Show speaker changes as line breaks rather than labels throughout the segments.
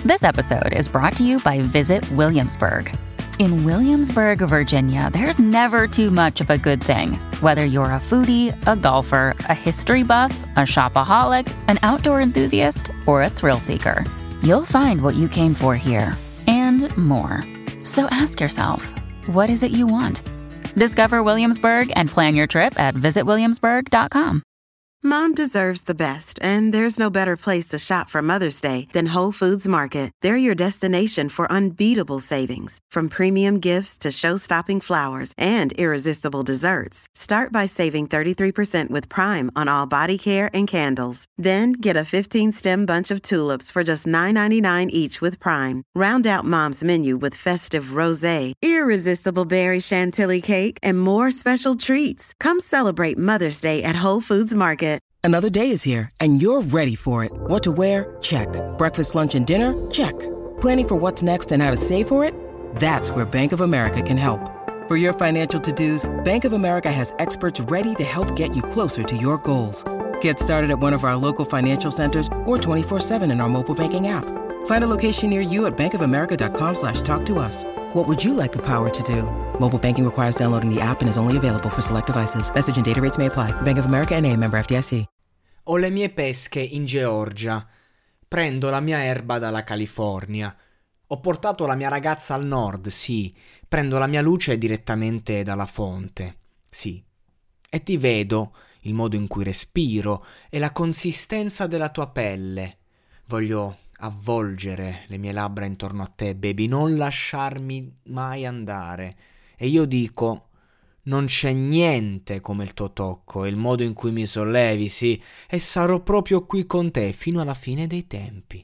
This episode is brought to you by Visit Williamsburg. In Williamsburg, Virginia, there's never too much of a good thing. Whether you're a foodie, a golfer, a history buff, a shopaholic, an outdoor enthusiast, or a thrill seeker, you'll find what you came for here and more. So ask yourself, what is it you want? Discover Williamsburg and plan your trip at visitwilliamsburg.com.
Mom deserves the best, and there's no better place to shop for Mother's Day than Whole Foods Market. They're your destination for unbeatable savings, from premium gifts to show-stopping flowers and irresistible desserts. Start by saving 33% with Prime on all body care and candles. Then get a 15-stem bunch of tulips for just $9.99 each with Prime. Round out Mom's menu with festive rosé, irresistible berry chantilly cake, and more special treats. Come celebrate Mother's Day at Whole Foods Market.
Another day is here, and you're ready for it. What to wear? Check. Breakfast, lunch, and dinner? Check. Planning for what's next and how to save for it? That's where Bank of America can help. For your financial to-dos, Bank of America has experts ready to help get you closer to your goals. Get started at one of our local financial centers or 24/7 in our mobile banking app. Find a location near you at bankofamerica.com/talktous. What would you like the power to do? Mobile banking requires downloading the app and is only available for select devices. Message and data rates may apply. Bank of America N.A., member FDIC.
Ho le mie pesche in Georgia. Prendo la mia erba dalla California. Ho portato la mia ragazza al nord, sì. Prendo la mia luce direttamente dalla fonte, sì. E ti vedo, il modo in cui respiro e la consistenza della tua pelle. Voglio avvolgere le mie labbra intorno a te, baby, non lasciarmi mai andare. E io dico, non c'è niente come il tuo tocco e il modo in cui mi sollevi, sì, e sarò proprio qui con te fino alla fine dei tempi.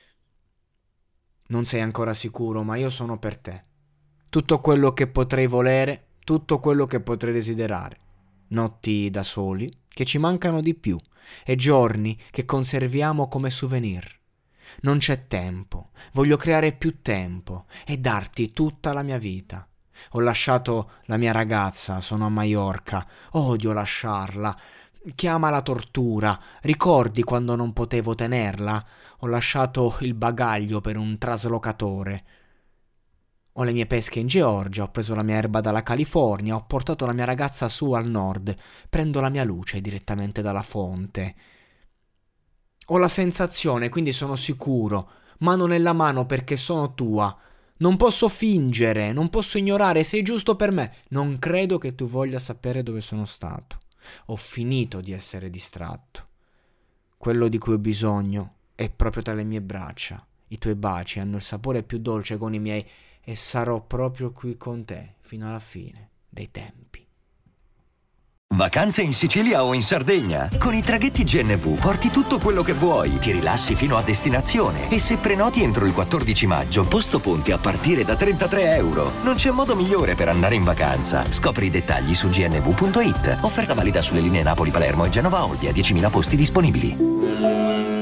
Non sei ancora sicuro, ma io sono per te. Tutto quello che potrei volere, tutto quello che potrei desiderare. Notti da soli che ci mancano di più e giorni che conserviamo come souvenir. Non c'è tempo, voglio creare più tempo e darti tutta la mia vita. Ho lasciato la mia ragazza, sono a Maiorca, odio lasciarla. Chiama la tortura, ricordi quando non potevo tenerla? Ho lasciato il bagaglio per un traslocatore. Ho le mie pesche in Georgia, ho preso la mia erba dalla California, ho portato la mia ragazza su al nord, prendo la mia luce direttamente dalla fonte. Ho la sensazione, quindi sono sicuro, mano nella mano perché sono tua. Non posso fingere, non posso ignorare, sei giusto per me. Non credo che tu voglia sapere dove sono stato. Ho finito di essere distratto. Quello di cui ho bisogno è proprio tra le mie braccia. I tuoi baci hanno il sapore più dolce con i miei e sarò proprio qui con te fino alla fine dei tempi.
Vacanze in Sicilia o in Sardegna? Con i traghetti GNV porti tutto quello che vuoi, ti rilassi fino a destinazione e se prenoti entro il 14 maggio, posto ponti a partire da €33. Non c'è modo migliore per andare in vacanza. Scopri i dettagli su gnv.it. Offerta valida sulle linee Napoli-Palermo e Genova-Olbia, 10.000 posti disponibili.